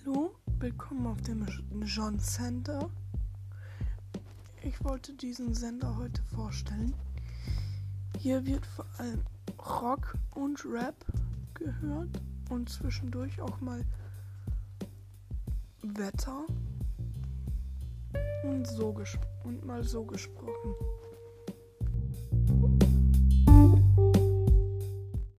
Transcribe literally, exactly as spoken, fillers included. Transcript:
Hallo, willkommen auf dem John Center. Ich wollte diesen Sender heute vorstellen. Hier wird vor allem Rock und Rap gehört und zwischendurch auch mal Wetter und so ges- und mal so gesprochen.